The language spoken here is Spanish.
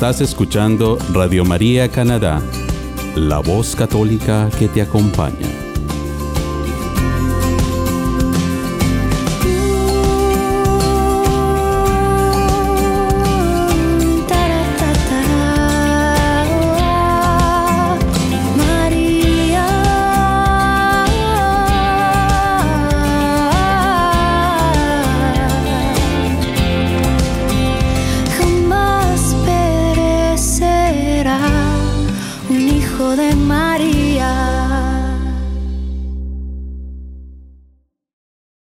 Estás escuchando Radio María Canadá, la voz católica que te acompaña.